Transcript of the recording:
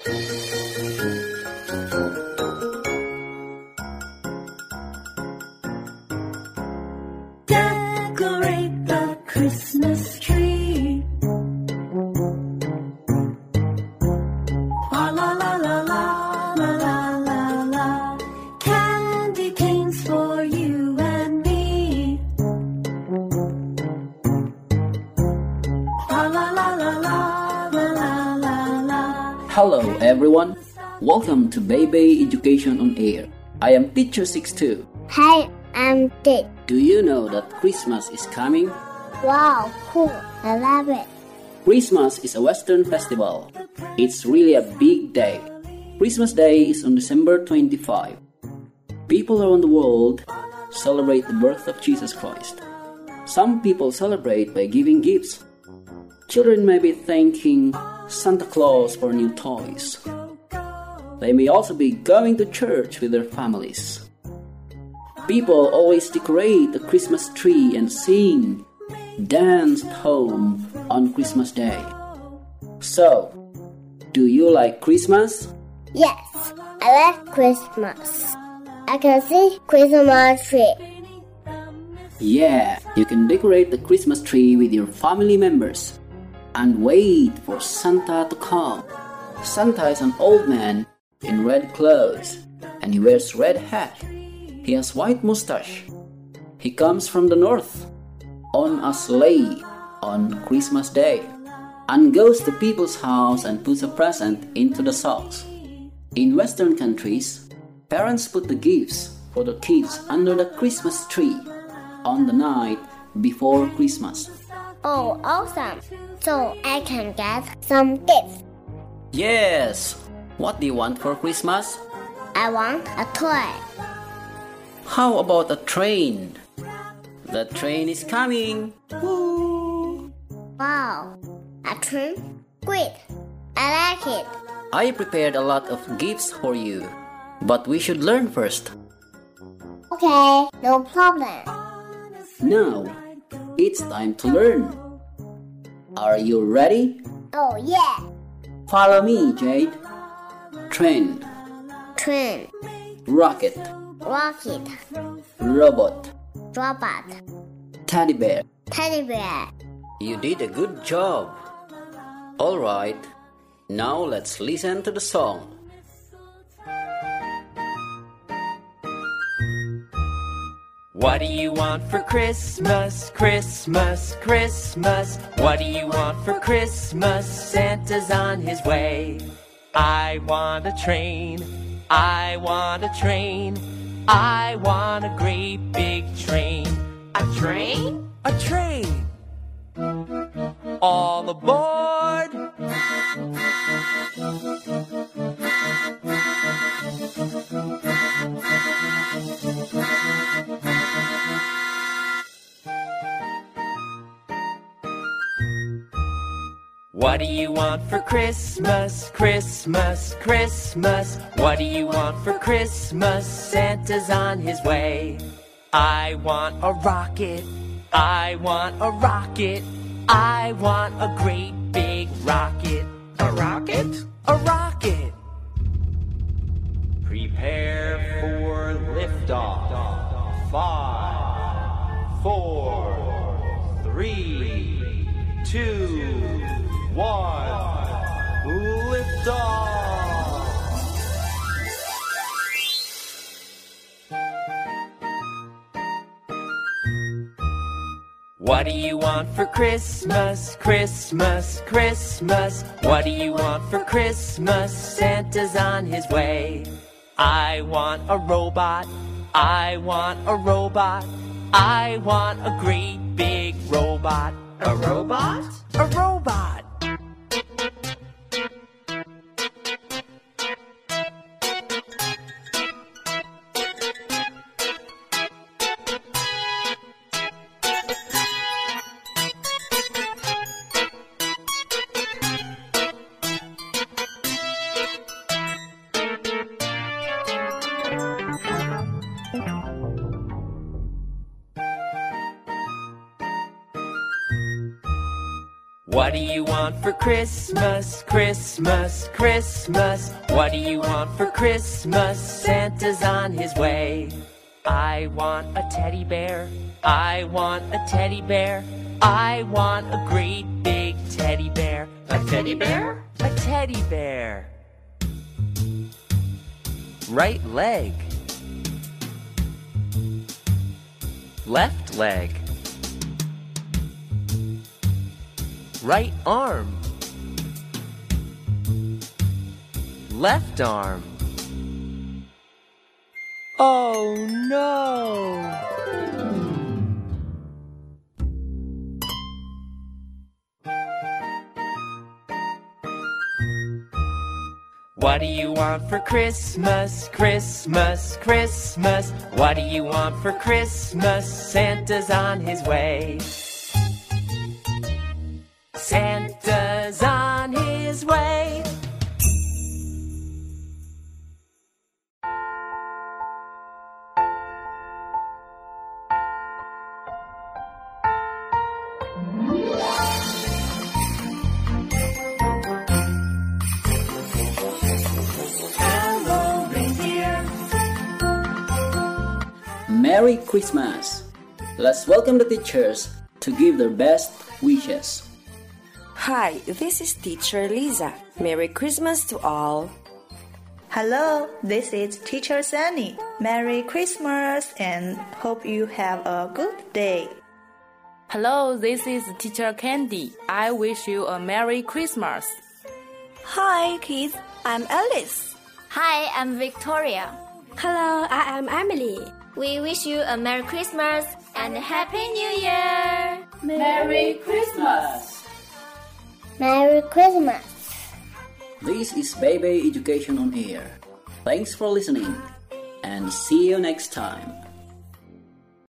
Decorate the Christmas tree. La la la la la la la la. Candy canes for you and me. La la la la la la la la. Hello everyone, welcome to Baby Education on Air. I am Teacher 62. Hi, I'm Dick. Do you know that Christmas is coming? Wow, cool. I love it. Christmas is a Western festival. It's really a big day. Christmas Day is on December 25. People around the world celebrate the birth of Jesus Christ. Some people celebrate by giving gifts. Children may be thanking Santa Claus for new toys. They may also be going to church with their families. People always decorate the Christmas tree and sing, dance at home on Christmas Day. So, do you like Christmas? Yes, I like Christmas. I can see Christmas tree. Yeah, you can decorate the Christmas tree with your family members and wait for Santa to come. Santa is an old man in red clothes and he wears red hat. He has white mustache. He comes from the north on a sleigh on Christmas Day and goes to people's house and puts a present into the socks. In Western countries, parents put the gifts for the kids under the Christmas tree on the night before Christmas. Oh, awesome. So I can get some gifts. Yes! What do you want for Christmas? I want a toy. How about a train? The train is coming! Woo! Wow, a train? Great. I like it. I prepared a lot of gifts for you, but we should learn first. Okay, no problem. Now, it's time to learn. Are you ready? Oh, yeah. Follow me, Jade. Train, Train, rocket, rocket, robot, robot, teddy bear. teddy bear. You did a good job. Alright, now let's listen to the song. What do you want for Christmas, Christmas, Christmas? What do you want for Christmas? Santa's on his way. I want a train, I want a train, I want a great big train. A train? A train! All aboard! What do you want for Christmas, Christmas, Christmas? What do you want for Christmas? Santa's on his way. I want a rocket, I want a rocket, I want a great big rocket. A rocket? A rocket! Prepare for liftoff. 5, 4, 3, 2, 1, lift off! What do you want for Christmas, Christmas, Christmas? What do you want for Christmas? Santa's on his way. I want a robot, I want a robot, I want a great big robot. A robot? A robot! What do you want for Christmas? Christmas, Christmas. What do you want for Christmas? Santa's on his way. I want a teddy bear. I want a teddy bear. I want a great big teddy bear. A teddy bear? A teddy bear. Right leg. Left leg. Right arm. Left arm. Oh no! What do you want for Christmas? Christmas, Christmas. What do you want for Christmas? Santa's on his way. Santa's on his way. Merry Christmas! Let's welcome the teachers to give their best wishes. Hi, this is Teacher Lisa. Merry Christmas to all. Hello, this is Teacher Sunny. Merry Christmas and hope you have a good day. Hello, this is Teacher Candy. I wish you a Merry Christmas. Hi, kids. I'm Alice. Hi, I'm Victoria. Hello, I am Emily. We wish you a Merry Christmas and a Happy New Year! Merry Christmas! Merry Christmas! This is Baby Education on Air. Thanks for listening and see you next time.